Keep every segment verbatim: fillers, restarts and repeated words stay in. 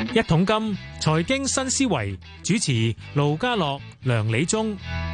一桶金財經新思維主持盧家樂、梁理中。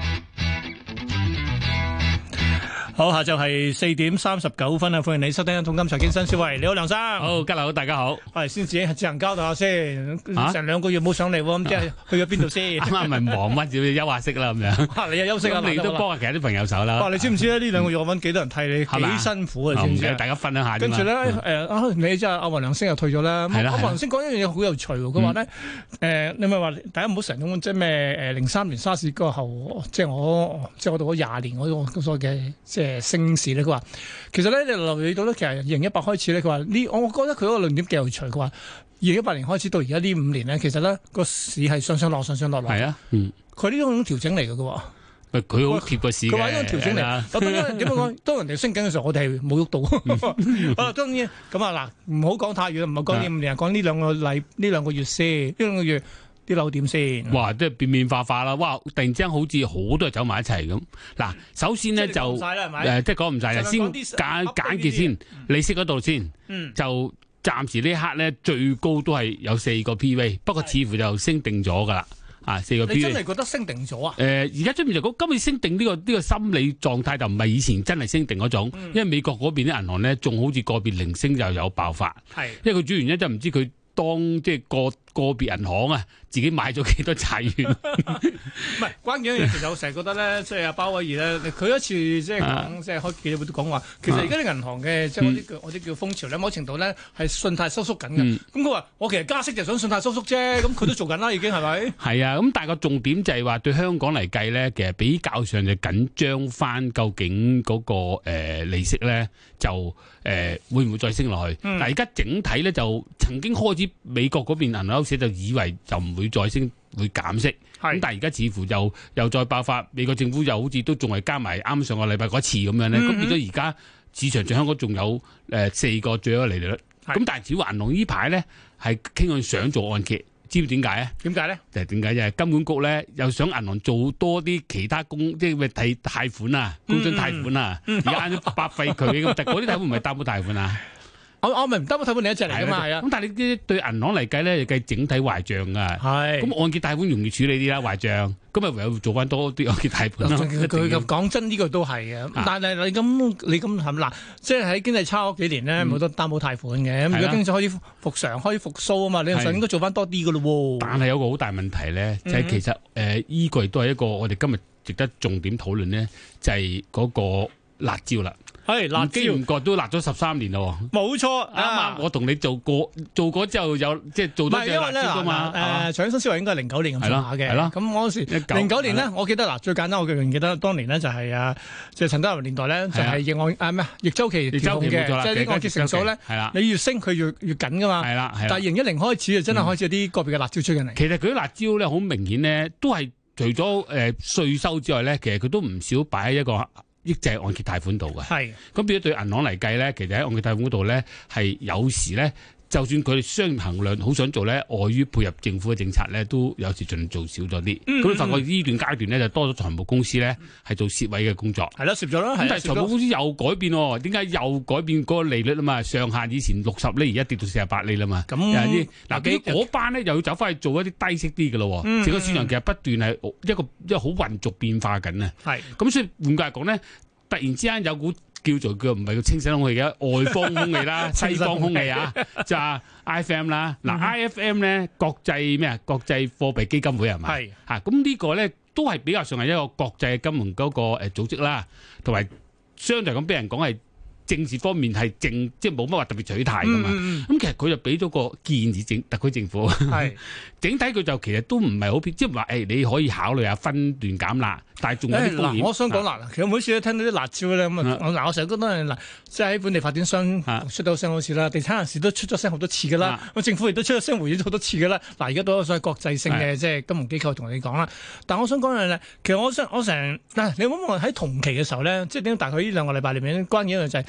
好，下晝係四點三十九分啊！歡迎你收聽《一桶金財經新思維》。你好，梁生。 好，家樓大家好。 係先自己自行交代下先，成兩個月冇上嚟喎，咁即係去咗邊度先？啱啱咪忙乜要休下息啦咁樣。 你又休息啊？ 你都幫下其他啲朋友手啦。 你知唔知咧？呢兩個月我揾幾多人替你，幾辛苦啊？知唔知？ 大家分享下。 跟住咧，誒你即係阿黃良星又退咗啦。阿黃良星講一樣嘢好有趣喎，佢話咧誒，你咪話大家唔好成日即係咩誒零三年沙士嗰後，即係我即係我讀咗廿年嗰個所謂嘅即係升市咧。佢話其實咧，你留意到咧，其實二零一八開始咧，佢話呢，我覺得佢嗰個論點幾有趣。佢話二零一八年開始到而家呢五年咧，其實咧個市係上上落上上落落。係啊，嗯，佢呢種調整嚟嘅喎。 佢好貼個市嘅。佢話呢種調整嚟。咁點點樣講？當人哋升緊嘅時候，我哋係冇喐到。啊，當然咁啊嗱，唔好講太遠，唔好講呢五年，講呢兩個禮呢兩個月先，呢兩個月。啲樓點先？哇！ 即係變變化化啦！哇！突然之間好似好多人走埋一齊咁。嗱，首先咧就誒，即係講唔晒啦，先簡簡潔先，利息嗰度先，嗯、就暫時呢一刻咧最高都係有四個 P V， 不過似乎就升定咗噶啦。啊，四個 P V。你真係覺得升定咗啊？ 誒、呃，而家出面就講今次升定呢、這個呢、這個心理狀態就唔係以前真係升定嗰種，嗯、因為美國嗰邊啲銀行咧仲好似個別零星就有爆發。係，因為佢主要原因就唔知佢。當即係個個別銀行啊，自己買咗幾多債券？ 唔係關鍵一樣嘢，其實我成日覺得咧，即係阿鮑威爾咧，佢一次即係講，即係開記者會都講話，其實而家啲銀行嘅即係我啲叫我啲叫風潮咧，某程度咧係信貸收縮緊嘅。咁佢話我其實加息就想信貸收縮啫，咁佢都做緊啦，已經係咪？係啊，咁但係個重點就係話對香港嚟計咧，其實比較上就緊張翻，究竟嗰個誒利息咧就誒會唔會再升落去？但係而家整體咧就曾經開始。美國嗰邊銀行歐社就以為就唔會再升，會減息。咁但係而家似乎就又再爆發，美國政府又好似都仲係加埋啱上個禮拜嗰次咁樣咧。咁、嗯、變咗而家市場上香港仲有誒四個最高利率。咁但係似乎銀行呢排咧係傾向想做按揭，知唔知點解啊？點解咧？就係點解？就係金管局咧又想銀行做多啲其他公，即係咩貸貸款啊、工商貸款啊，而家啱啱白費佢咁。但係嗰啲貸款唔係擔保貸款啊。 我我咪唔得，我睇本你一隻嚟噶嘛，係啊。咁但係你啲對銀行嚟計咧，計整體壞賬噶。係。咁按揭貸款容易處理啲啦，壞賬。咁咪唯有做翻多啲按揭貸款咯。 佢佢講真呢個都係嘅。但係你咁你咁係咪嗱？即係喺經濟差嗰幾年咧，冇得擔保貸款嘅。咁而家經濟開始復常，開始復甦啊嘛，理論上應該做翻多啲噶咯喎。但係有個好大問題咧，就係其實誒依個亦都係一個我哋今日值得重點討論咧，就係嗰個辣椒啦。係辣椒，唔覺都辣咗十三年咯。冇錯，啱啱我同你做過，做過之後有即係做多隻辣椒噶嘛。誒，財經新思維應該係零九年咁上下嘅。係咯，咁嗰時零九年呢，我記得嗱，最簡單我記記得當年呢就係啊，即係陳德霖年代咧，就係逆按啊咩逆周期調控嘅，即係啲按揭成數咧，你越升佢越越緊噶嘛。係啦，但係二零一零開始就真係開始有啲個別嘅辣椒出緊嚟。其實佢啲辣椒咧好明顯咧，都係除咗誒稅收之外咧，其實佢都唔少擺喺一個抑制按揭貸款度嘅，係咁變咗對銀行嚟計咧，其實喺按揭貸款嗰度咧，係有時咧，就算佢哋商業衡量好想做咧，礙於配合政府嘅政策咧，都有時盡量做少咗啲。咁、嗯、你發覺呢段階段咧，就多咗財務公司咧係做蝕位嘅工作。係啦，蝕咗啦。咁但係財務公司又改變喎，點解又改變嗰個利率啊嘛？上限以前六十厘，而家跌到四十八厘啦嘛。咁嗱，嗰嗰班咧又要走翻去做一啲低息啲嘅咯。整個、嗯、市場其實不斷係一個一個好混濁變化緊啊。係咁，所以換句嚟講咧，突然之間有股叫做叫唔係叫清新空氣嘅外方空氣啦，西方空氣啊，就係 I F M 啦。嗱 I F M 咧國際咩啊？國際貨幣基金會係咪？係嚇，咁呢個咧都係比較上係一個國際金融嗰個誒組織啦，同埋相對咁俾人講係政治方面係正，即係冇乜話特別取態噶嘛。咁、嗯嗯、其實佢就俾咗個建議政特區政府，係整體佢就其實都唔係好偏，即係話誒你可以考慮下分段減辣。但係仲有啲風險。我想講嗱，其實每次都聽到啲辣椒咧，咁啊，嗱，我成日覺得嗱，即係喺本地發展商出到聲好似啦，地產人士都出咗聲好多次噶啦，咁政府亦都出咗聲回應咗好多次噶啦。嗱，而家都有所謂國際性嘅即係金融機構同你講啦。但係我想講嘅咧，其實我想我成嗱，你冇望喺同期嘅時候咧，即係點解大概呢兩個禮拜裏面關鍵一樣就係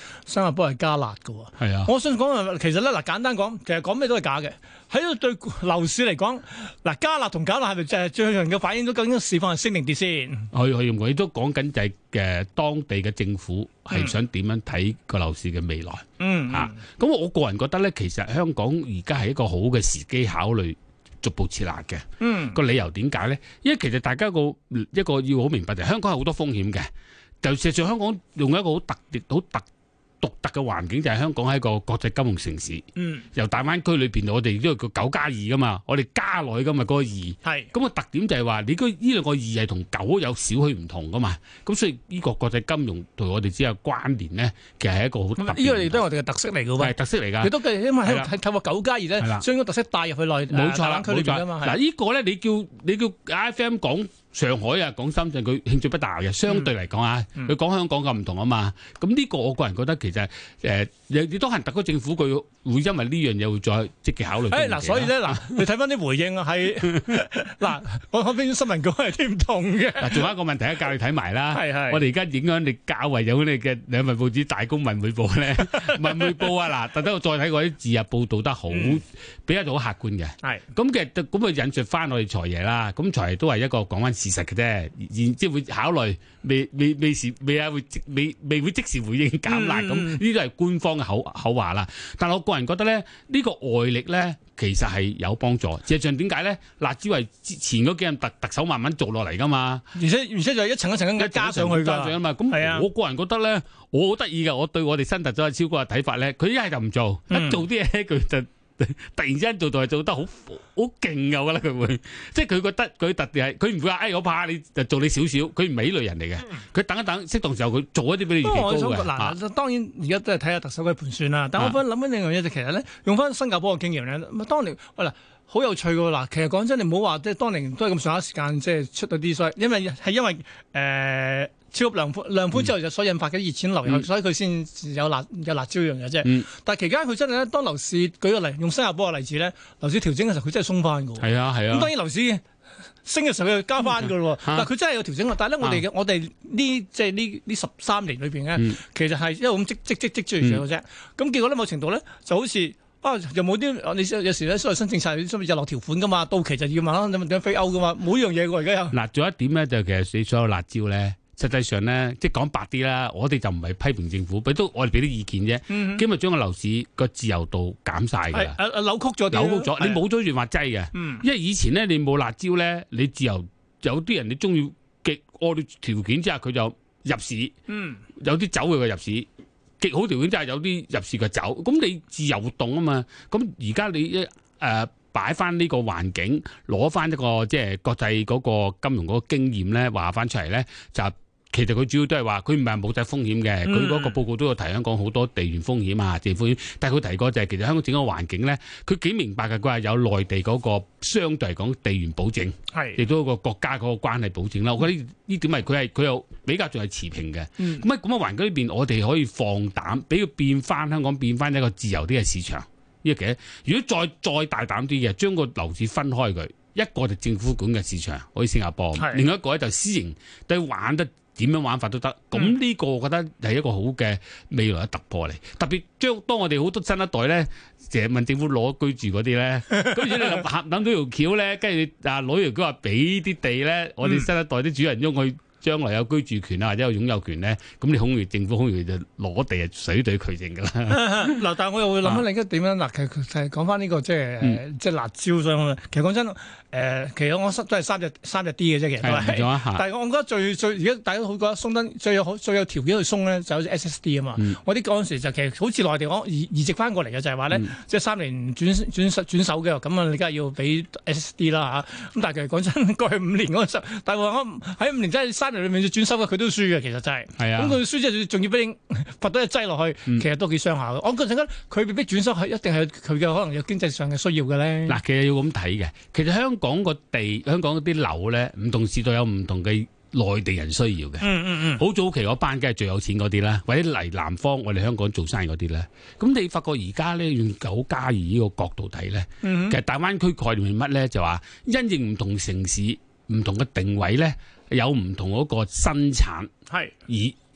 新加坡係加辣㗎喎。 係啊， 我想講其實咧嗱，簡單講，其實講咩都係假嘅。喺度對樓市嚟講，嗱加辣同減辣係咪就係最能夠反映到究竟市況係升定跌先？ 可以可以，我亦都講緊就係嘅當地嘅政府係想點樣睇個樓市嘅未來。 嗯， 嚇、嗯，咁、啊、我個人覺得咧，其實香港而家係一個好嘅時機考慮逐步撤辣嘅。嗯，個理由點解咧？因為其實大家個一個要好明白就係香港係好多風險嘅，就事實上香港用一個好特別、好特獨特嘅環境，就係香港係一個國際金融城市。嗯，由大灣區裏邊，我哋都係個九加二噶嘛，我哋加落去噶嘛，嗰個二。係，咁個特點就係話，你嗰呢兩個二係同九有少許唔同噶嘛。咁所以呢個國際金融同我哋之間嘅關聯咧，其實係一個好特別。呢個亦都係我哋嘅特色嚟噶喎。係特色嚟㗎。亦都因為喺透過九加二咧，將嗰個特色帶入去內冇錯啦，冇錯嘛。嗱，呢個咧你叫你叫 I F M 講上海啊，講深圳，佢興趣不大嘅。相對嚟講啊，佢講香港咁唔同啊嘛。咁呢個我個人覺得其實誒，亦都係特區政府佢會因為呢樣嘢會再積極考慮。誒嗱，所以咧嗱，你睇翻啲回應啊，係嗱，我我邊新聞稿係啲唔同嘅。嗱，仲有一個問題咧，教你睇埋啦。係係。我哋而家影響力較為有你嘅兩份報紙《大公文匯報》咧，《文匯報》啊嗱，特登我再睇過啲字啊，報導得好比較好客觀嘅。係。咁其實咁啊引述翻我哋財爺啦，咁財爺都係一個講翻事實嘅啫，然即係會考慮未未未時未啊會未未會即時回應減辣，咁呢啲都係官方嘅口口話啦。但係我個人覺得咧，呢、呢個外力咧其實係有幫助。事實上點解咧？辣招係前嗰幾任特特首慢慢做落嚟噶嘛，而且而且就係一層一層咁加上去加上啊嘛。咁我個人覺得咧，我好得意嘅，我對我哋新特首超哥嘅睇法咧，佢一係就唔做，一做啲嘢佢就。突然之間做到係做得好好勁㗎，我覺得佢會，即係佢覺得佢特別係，佢唔會話，哎，我怕你就做你少少，佢唔係呢類人嚟嘅，佢等一等，適當時候佢做一啲比你預期高嘅。嗱、啊，當然而家都係睇下特首嘅盤算啦。但我翻諗緊另一樣嘢就其實咧，用翻新加坡嘅經驗咧，咁當年喂嗱好有趣㗎嗱，其實講真，你唔好話即係當年都係咁上下時間即係出到啲衰，因為係因為誒。呃超級量寬量寬之後就所引發嘅熱錢流入去，嗯、所以佢先有辣有辣椒一樣嘢啫。嗯、但係期間佢真係咧，當樓市舉個例，用新加坡嘅例子咧，樓市調整嘅時候佢真係鬆翻㗎。係啊係啊。咁當然樓市升嘅時候佢加翻㗎咯。嗯、但係佢真係有調整。但係咧，我哋嘅、啊、我哋呢即係呢呢十三年裏邊咧，嗯、其實係一路咁積積積積住嚟嘅啫。咁、嗯、結果咧，某程度咧就好似啊，又冇啲你有時咧所謂新政策有啲日落條款㗎嘛，到期就要問啦，點點飛歐㗎嘛，冇一樣嘢㗎而家有。嗱，仲有一點咧，就其實你所有辣椒咧。實際上咧，即係講白啲啦，我哋就唔係批評政府，俾都我哋俾啲意見啫。嗯、今日將個樓市個自由度減晒㗎啦，扭曲咗，扭曲咗，你冇咗潤滑劑嘅。嗯、因為以前咧，你冇辣椒咧，你自由有啲人你中意極惡劣條件之下，佢就入市。嗯、有啲走佢嘅入市，極好條件之下有啲入市嘅走。咁你自由活動啊嘛。咁而家你一誒。呃擺翻呢個環境，攞翻一個即係國際嗰個金融嗰個經驗咧，話翻出嚟咧，就其實佢主要都係話，佢唔係冇晒風險嘅，佢嗰、嗯、個報告都有提香港好多地緣風險啊、政府風險，但係佢提過就係其實香港整個環境咧，佢幾明白嘅，佢話有內地嗰個相對嚟講地緣保證，係亦都有個國家嗰個關係保證啦。我覺得呢點係佢係佢又比較仲係持平嘅。咁喺咁嘅環境裏邊，我哋可以放膽俾佢變翻香港變翻一個自由啲嘅市場。呢個嘅，如果再再大膽啲嘅，將個樓市分開佢，一個就政府管嘅市場，好似新加坡；是另一個咧就私營，都玩得點樣玩法都得。咁呢、嗯、個我覺得係一個好嘅未來嘅突破嚟。特別將當我哋好多新一代咧，成日問政府攞居住嗰啲咧，咁如果你諗到條橋咧，跟住你啊攞條橋話俾啲地咧，我哋新一代啲主人翁去。將來有居住權啊，或者有擁有權咧，咁你好容易政府好容易就攞地啊，水對渠成噶啦。嗱，但係我又會諗翻另一點樣嗱，其實講翻呢個即係誒，即係辣椒上。其實講真，誒，其實我都係三隻三隻 D 嘅啫，其實都係。但係我覺得最最而家大家好覺得鬆得最有最有條件去鬆咧，就好似 S S D 啊嘛。嗯、我啲嗰陣時就其實好似內地講移移植翻過嚟嘅，就係話咧，嗯、即係三年轉轉轉手嘅，咁啊，你梗係要俾 S S D 啦嚇。咁但係其實講真，過去五年嗰陣，但係我喺五年真係三。裏面轉手嘅佢都輸嘅，其實真係。係啊。咁佢輸之後仲要俾你罰到一劑落去，嗯、其實都幾傷下嘅。我覺得佢被逼轉手係一定係佢嘅可能有經濟上嘅需要嘅咧。嗱，其實要咁睇嘅。其實香港個地，香港嗰啲樓咧，唔同時代有唔同嘅內地人需要嘅。嗯嗯嗯。好早期嗰班梗係最有錢嗰啲啦，或者嚟南方我哋香港做生意嗰啲咧。咁你發覺而家咧用九加二呢個角度睇咧，嗯、其實大灣區概念係乜咧？就話因應唔同城市、唔同嘅定位咧。有唔同嗰個生產，係而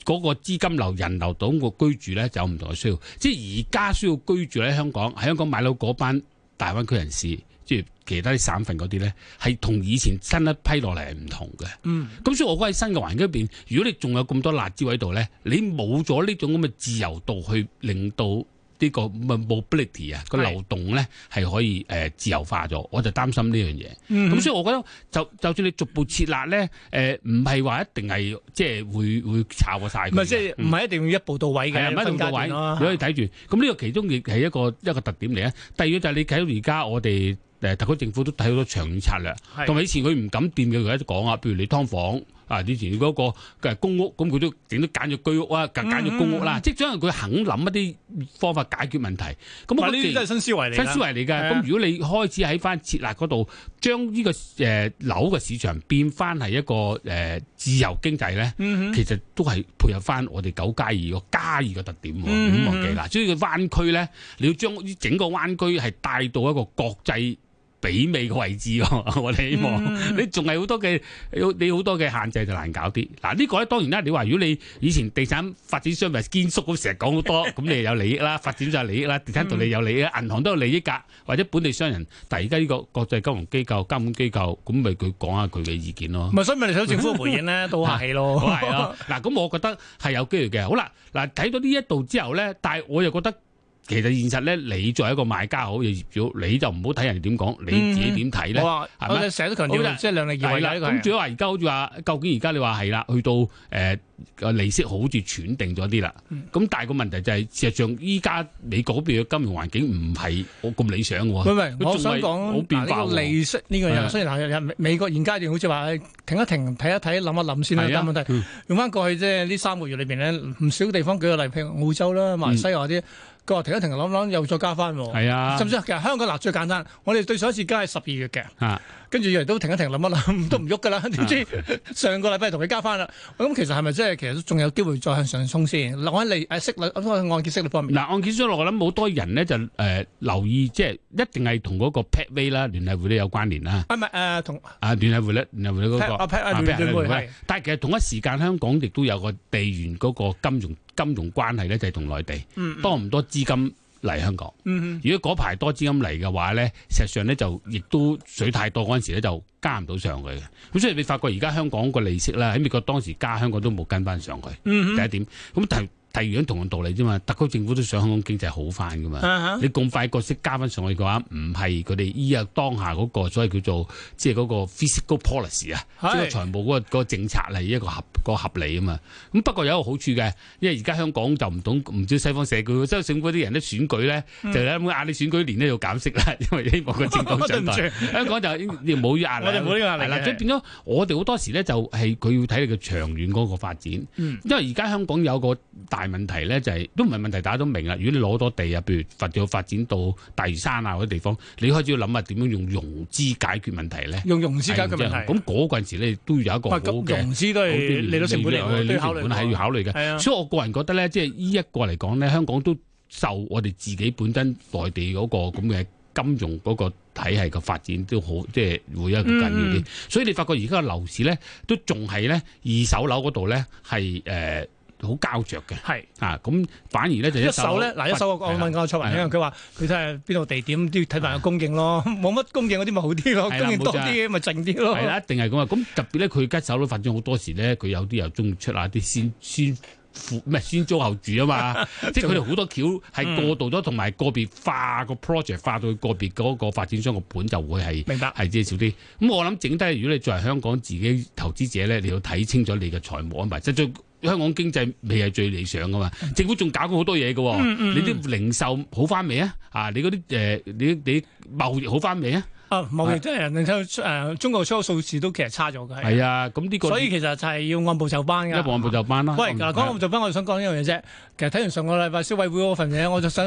嗰個資金流、人流到個居住咧就有唔同嘅需要。即係而家需要居住喺香港，喺香港買樓嗰班大灣區人士，即係其他啲省份嗰啲咧，係同以前新一批落嚟係唔同嘅。嗯，咁所以我覺得喺新嘅環境入邊，如果你仲有咁多辣椒喺度咧，你冇咗呢種咁嘅自由度去令到呢個 mobility 啊個流動咧係可以誒自由化咗，我就擔心呢樣嘢。咁、嗯、所以我覺得就就算你逐步設立咧，誒唔係話一定係即係會會炒過晒。唔係即係唔係一定要一步到位嘅， 唔係一步到位，你可以睇住。咁呢個其中亦係一個一個特點嚟啊。第二個就係你睇到而家我哋誒特區政府都睇好多長遠策略，同埋以前佢唔敢掂嘅，佢一直講啊，譬如你劏房。啊！以前嗰個嘅公屋，咁佢都整都揀咗居屋啊，揀揀咗公屋啦。嗯嗯、即係將佢肯諗一啲方法解決問題。咁呢啲都係新思維嚟。新思維嚟㗎。 咁如果你開始喺翻設立嗰度，將呢、這個誒、呃、樓嘅市場變翻係一個誒、呃、自由經濟咧，嗯、其實都係配合翻我哋九加二個加二嘅特點。唔好、嗯、忘記啦。所以個灣區咧，你要將整個灣區係帶到一個國際媲美嘅位置，我哋希望、嗯、你仲係好多嘅，你好多嘅限制就難搞啲。嗱、這個、呢個咧當然啦，你話如果你以前地產發展商咪堅叔咁成日講好多，咁你有利益啦，發展商有利益啦，地產道理有利益，銀行都有利益㗎，或者本地商人。但係而家呢個國際金融機構、監管機構，咁咪佢講下佢嘅意見咯。 咪所以咪你想政府回應咧，都客氣咯。 係咯，嗱咁我覺得係有機會嘅。好啦，嗱睇到呢一度之後咧，但係我又覺得。其實現實咧，你作為一個買家好，業主，你就唔好睇人哋點講，你自己點睇咧？ 我哋成日都強調，即係量力而為啦。 咁主要話而家好似話，究竟而家你話係啦，去到誒個、呃、利息好似斷定咗啲啦。咁、嗯、但係個問題就係、是，事實上依家美國嗰邊嘅金融環境唔係我咁理想嘅喎。 唔係，我想講嗱，呢個利息呢個嘢，雖然係美國現階段好似話停一停、睇一睇、諗一諗先啦。但係問題、嗯、用翻過去即係呢三個月裏邊咧，唔少地方舉個例，譬如澳洲啦、馬來西亞啲。佢話停一停，諗諗又再加翻喎。係啊，甚至其實香港嗱最簡單，我哋對上一次加係十二月嘅，啊、跟住以為都停一停，諗一諗都唔喐噶啦。點知上個禮拜同佢加翻啦。咁其實係咪即係其實都仲有機會再向上衝先？我喺利誒息率，按揭息率方面。嗱，按揭息率我諗好多人咧就誒、呃、留意，即係一定係同嗰個 Pathway 啦，聯繫匯率有關聯啦。啊唔係誒同啊聯繫匯率，聯繫匯率嗰個啊 Pathway 但係其實同一時間香港亦都有個地緣嗰個金融。金融關係咧就係同內地、嗯嗯、多唔多資金嚟香港？嗯、如果嗰排多資金嚟嘅話咧，事實上咧就亦都水太多嗰陣時咧就加唔到上去嘅。咁所以你發覺而家香港個利息咧喺美國當時加，香港都冇跟翻上去。嗯、第一點咁但係。第二樣同樣道理啫嘛，特區政府都想香港經濟好翻噶嘛。Uh huh. 你咁快個息加翻上去嘅話，唔係佢哋依日當下嗰個所謂叫做即係嗰個 fiscal policy 啊，即係財務嗰個嗰個政策係一個合個合理啊嘛。咁不過有一個好處嘅，因為而家香港就唔懂唔知西方社區，即係政府啲人咧選舉咧，嗯、就咧壓你選舉年咧要減息啦，因為希望個政黨上台。香港就冇壓力，我哋冇呢個壓力啦。所以變咗我哋好多時咧就係佢要睇你嘅長遠嗰個發展，嗯、因為而家香港有個大問題咧就係、是、都唔係問題，大家都明啦。如果你攞多地啊，譬如發展發展到大嶼山啊嗰啲地方，你開始要諗下點樣用融資解決問題咧？用融資解決問題。咁嗰陣時咧都要有一個好嘅融資都係利率成本嚟，利率成本係要考慮嘅。的所以我個人覺得咧，即係呢一個嚟講咧，香港都受我哋自己本身內地嗰個咁嘅金融嗰個體系嘅發展都好，即係會一個緊要啲。嗯、所以你發覺而家嘅樓市咧都仲係咧二手樓嗰度咧係誒。好膠着嘅，係是啊，咁反而咧就一手咧，嗱一手我問過蔡宏，因為佢話佢睇下邊度地點都要睇埋個供應咯，冇乜供應嗰啲咪好啲咯，供應多啲咪靜啲咯。係啦，一定係咁啊！咁特別咧，佢一手都發展好多時咧，佢有啲又中意出下啲先先付咩先租後住啊嘛，即係佢哋好多橋係過渡咗，同埋個別化個 project 化到個別嗰個發展商個盤就會係明白係即係少啲。咁我諗整體，如果你作為香港自己投資者咧，你要睇清楚你嘅財務安排，即係最。香港經濟未係最理想噶嘛，政府仲搞過好多嘢噶，嗯嗯、你啲零售好翻未啊？啊，你嗰啲誒，你你貿易好翻未啊？啊，貿易真係人哋誒，中國出口數字都其實差咗嘅。係啊，咁呢個所以其實就係要按部就班噶。一按部就班啦。喂，嗱，講按部就班，我就想講一樣嘢啫。其實睇完上個禮拜消委會嗰份嘢，我就想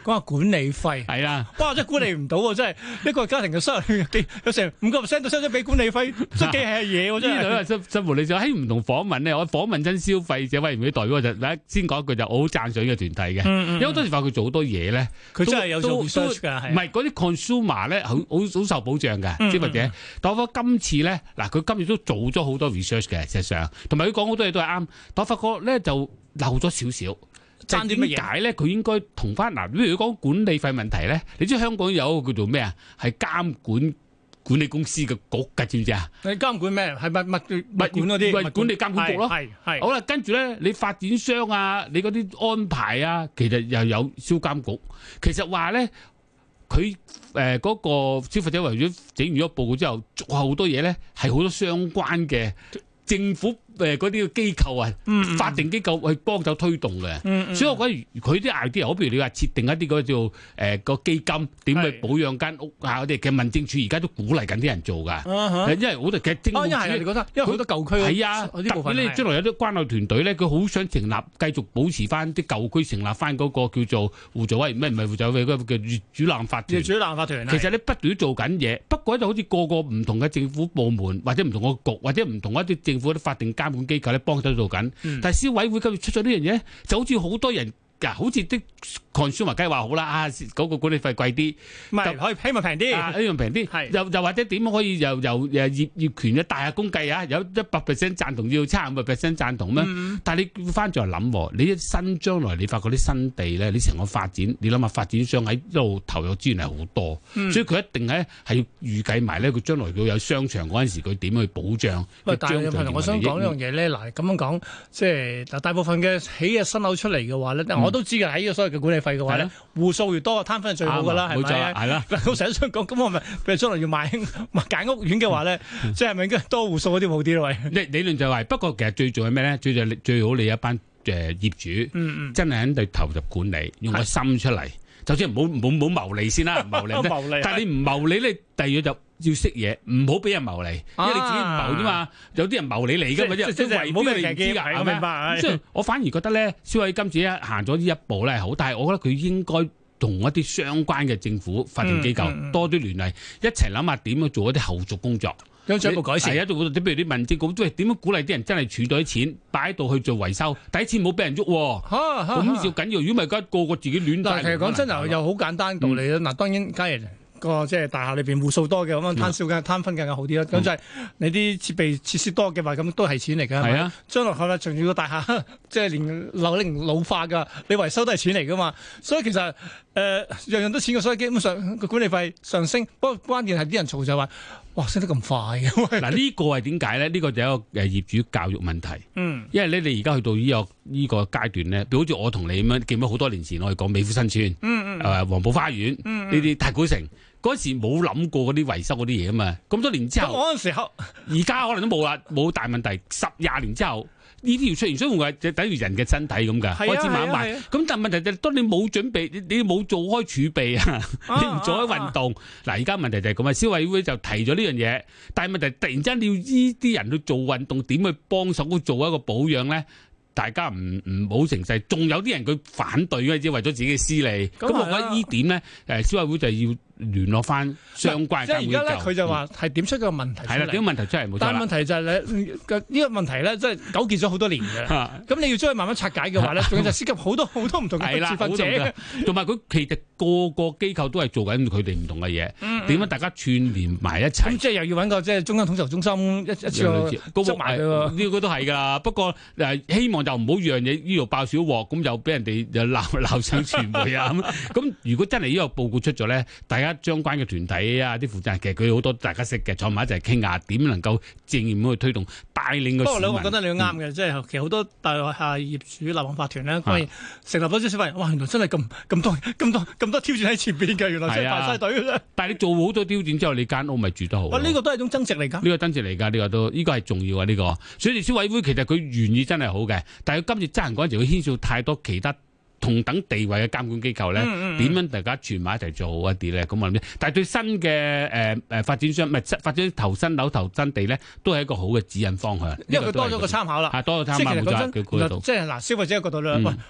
講下管理費係啦， 哇！真係管理唔到喎，真係一個家庭嘅收入幾有成五個 percent 都收咗俾管理費，真係幾係嘢喎，真係。 呢度新新聞你就喺唔同訪問咧，我訪問親消費者委員會代表就先講一句就我好讚賞呢個團體嘅， 嗯嗯因為好多時話佢做好多嘢咧， 佢真係有做 research 㗎， 唔係嗰啲 consumer 咧，好好好受保障嘅消費者。但我發覺今次咧，嗱佢今次都做咗好多 research 嘅，事實上，同埋佢講好多嘢都係啱。但我發覺咧就漏咗少少。 爭啲乜嘢？ 點解咧？佢應該同翻嗱，譬如講管理費問題咧，你知香港有一個叫做咩啊？係監管管理公司嘅局㗎，知唔知啊？ 你監管咩？係物物物管嗰啲物管理監管局咯。 係係。 好啦，跟住咧，你發展商啊，你嗰啲安排啊，其實又有消監局。其實話咧，佢誒嗰個消費者為咗整完咗報告之後，做好多嘢咧，係好多相關嘅政府。誒嗰啲機構啊，嗯、法定機構去幫手推動嘅，嗯嗯、所以我覺得佢啲 idea 好，譬如你話設定一啲嗰叫誒個基金，點去保養間屋啊嗰啲，其實民政處而家都鼓勵緊啲人做㗎，啊、因為好多其實政府，因為你覺得，因為好多舊區係啊，特別你將來有啲關愛團隊咧，佢好想成立繼續保持翻啲舊區，成立翻嗰個叫做互助委員咩唔係互助委員嗰個叫業主立案法團，業主立案法團，其實你不斷做緊嘢，不過就好似個個唔同嘅政府部門或者唔同個局或者唔同一啲政府啲法定監管機構咧幫手做緊，嗯、但係消委會今日出咗呢樣嘢，就好似好多人。好似啲 consumer 梗係話好啦，啊嗰、那個管理費貴啲， 唔係可以希望平啲， 希望平啲，又又或者點可以由由誒業業權嘅大額公計啊，有一百 percent 贊同要差五個 percent 贊同咩？嗯、但係你翻轉嚟諗，你一新將來你發覺啲新地咧，你成個發展，你諗下發展商喺一路投入資源係好多，嗯、所以佢一定咧係要預計埋咧，佢將來佢有商場嗰陣時，佢點去保障？喂， 但係我想講呢樣嘢咧，嗱咁樣講，即係嗱大部分嘅起嘅新樓出嚟嘅話咧，嗯、我都知嘅喺呢個所謂嘅管理費嘅話咧，戶數越多，攤分係最好㗎啦，係咪？係啦。我成日想講，咁我咪譬如將來要買買揀屋苑嘅話咧，即係咪應該多戶數嗰啲好啲咯？喂， 理理論就係，不過其實最重要係咩咧？最最最好你一班誒業主，嗯嗯，真係喺度投入管理，用個心出嚟。就算唔好唔好唔好牟利先啦，唔牟利啫。但係你唔牟利咧，第二就要識嘢，唔好俾人牟利，因為你自己唔牟啫嘛。有啲人牟利嚟㗎嘛，即係為邊你唔知㗎，係咪？即係我反而覺得咧，消委會今次一行咗呢一步咧係好，但係我覺得佢應該同一啲相關嘅政府法定機構多啲聯繫，一齊諗下點樣做一啲後續工作。有進一步改善。係啊，做譬如啲民政局，喂點樣鼓勵啲人真係儲到啲錢擺喺度去做維修，第一次冇俾人喐喎。咁要緊要，如果唔係，而家個個自己亂帶。但係其實講真又又好簡單道理啦。嗱、嗯，當然假如個即係大廈裏邊戶數多嘅咁樣攤銷嘅攤分更加好啲啦。咁、嗯、就係你啲設備設施多嘅話，咁都係錢嚟㗎。係啊，將來係咪仲要個大廈即係連樓齡老化㗎？你維修都係錢嚟㗎嘛。所以其實誒、呃、樣樣都錢嘅，所以基本上個管理費上升。不過關鍵係啲人嘈就話。哇！升得咁快嘅，嗱呢個係點解咧？呢、呢個就係一個誒業主教育問題。嗯，因為咧你而家去到呢、呢個呢、呢個階段咧，譬如好似我同你咁樣，記唔記得好多年前我哋講美孚新村，嗯嗯，誒黃埔花園，呢啲、嗯嗯、太古城，嗰時冇諗過嗰啲維修嗰啲嘢啊嘛。咁多年之後，嗰陣時候，而家可能都冇啦，冇大問題。十廿年之後。呢啲要出現，所以我話就等於人嘅身體咁㗎，開始慢慢。咁但係問題就係，當你冇準備，你你冇做開儲備啊，你唔做開運動。嗱，而家問題就係咁啊，消委會就提咗呢樣嘢，但係問題突然之間你要呢啲人去做運動，點去幫手做一個保養咧？大家唔唔好成勢，仲有啲人佢反對嘅，只為咗自己嘅私利。咁我覺得呢點咧，誒消委會就要聯絡翻相關嘅。即係而家咧，佢就話係點出個問題出嚟。係啦，點問題出嚟冇錯啦。但係問題就係咧，呢個問題咧，即係糾結咗好多年嘅。咁你要將佢慢慢拆解嘅話咧，仲要就涉及好多好多唔同嘅持份者。同埋佢其實個個機構都係做緊佢哋唔同嘅嘢。點樣大家串連埋一齊？咁即係又要揾個即係中央統籌中心一一次過執埋佢喎。呢個都係㗎。不過誒希望。就唔好讓嘢呢度爆小鑊，咁又俾人哋又鬧鬧上傳媒啊咁。咁如果真係呢個報告出咗咧，大家相關嘅團體啊、啲負責人，其實佢好多大家識嘅，坐埋一齊傾下點能夠正面咁去推動帶領個市民。不過你我覺得你啱嘅，即係、嗯、其實好多大廈業主立案法團咧，當然成立咗啲消費，哇！原來真係咁咁多咁多咁多挑戰喺前邊嘅，原來真係排晒隊嘅。但係你做好多挑戰之後，你間屋咪住得好。哇！呢、呢個都係一種增值嚟㗎。呢個增值嚟㗎，呢、呢個都呢、呢個係重要啊！呢、呢個，所以消委會其實佢原意真係好嘅。但係今次執行嗰陣時，佢牽涉太多其他同等地位嘅監管機構咧，點、嗯嗯、樣大家串埋一齊做一啲咧？咁我諗，但係對新嘅誒誒發展商，唔係發展投新樓、投新地咧，都係一個好嘅指引方向。因為佢多咗個參考啦，係多個參考冇錯。即係嗱，消費者嘅角度咧，喂、嗯。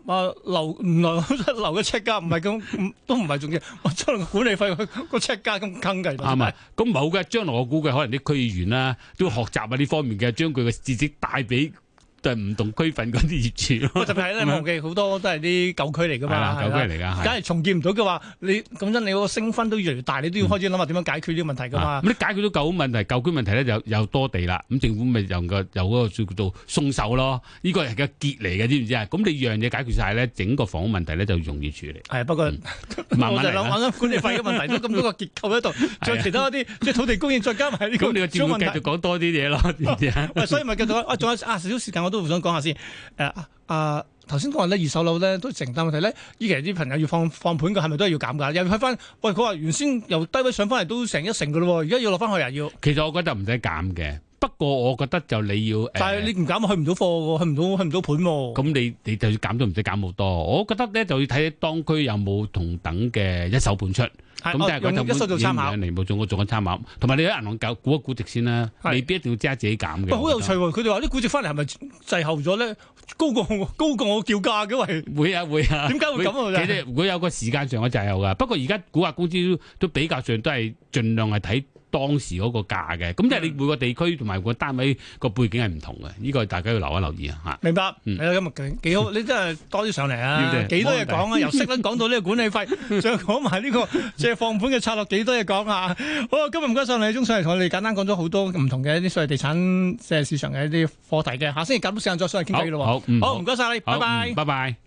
啊留唔留留嘅尺價唔係咁，都唔係重要。我將來個管理費個尺價咁坑計。 啱啊，咁冇嘅，將來我估計可能啲區議員啦都學習啊呢方面嘅，將佢嘅知識帶俾。都係唔同區份嗰啲業主咯， 特別係咧，忘記好多都係啲舊區嚟噶嘛， 舊區嚟噶， 梗係重建唔到嘅話，你講真，你嗰個升分都越嚟越大，你都要開始諗下點樣解決呢個問題噶嘛。咁、 啊、你解決到舊問題，舊區問題咧就有多地啦，咁政府咪由個由嗰個叫做鬆手咯，呢、這個係個結嚟嘅，知唔知啊？咁你樣嘢解決晒咧，整個房屋問題咧就容易處理。係不過、嗯、慢慢我就諗緊管理費嘅問題，都咁多個結構喺度，仲有其他啲即係土地供應，再加埋呢個。咁你個節目繼續講多啲嘢咯，知唔知啊？所以咪繼續啊，仲有啊少少時間，我都想講下先。誒啊！頭先講話咧，二手樓咧都承擔問題咧。依期啲朋友要放放盤嘅，係咪都係要減價？又要睇翻，喂，佢話原先由低位上翻嚟都成一成嘅咯喎，而家要落翻去啊要。其實我覺得唔使減嘅，不過我覺得就你要。但係你唔減，去唔到貨喎，去唔到去唔到盤喎。咁你你就要減都唔使減好多。我覺得咧就要睇當區有冇同等嘅一手盤出。咁即係嗰陣本參考嚟冇做，我做緊參考，同埋你喺銀行搞估一估值先啦，未必一定要即刻自己減嘅。好有趣喎！佢哋話啲估值翻嚟係咪滯後咗咧？高過高過我叫價嘅喂，會啊會啊。點解會咁啊？其實會有個時間上嘅滯後㗎。不過而家估價公司都比較上都係盡量係睇當時嗰個價嘅。咁即係你每個地區同埋個單位個背景係唔同嘅。呢個大家要留一留意啊嚇。明白。嗯，係啊，今日幾好，你真係多啲上嚟啊！幾多嘢講啊？由息率講到呢個管理費，再講埋呢個即係放盤嘅策略，幾多嘢講啊！好啊，今日唔該曬李忠上嚟同我哋簡單講咗好多唔同嘅一啲所謂地產即係市場嘅一啲課題嘅。下星期夾到時間再上嚟傾偈咯。好，好唔該曬你，拜拜，拜拜。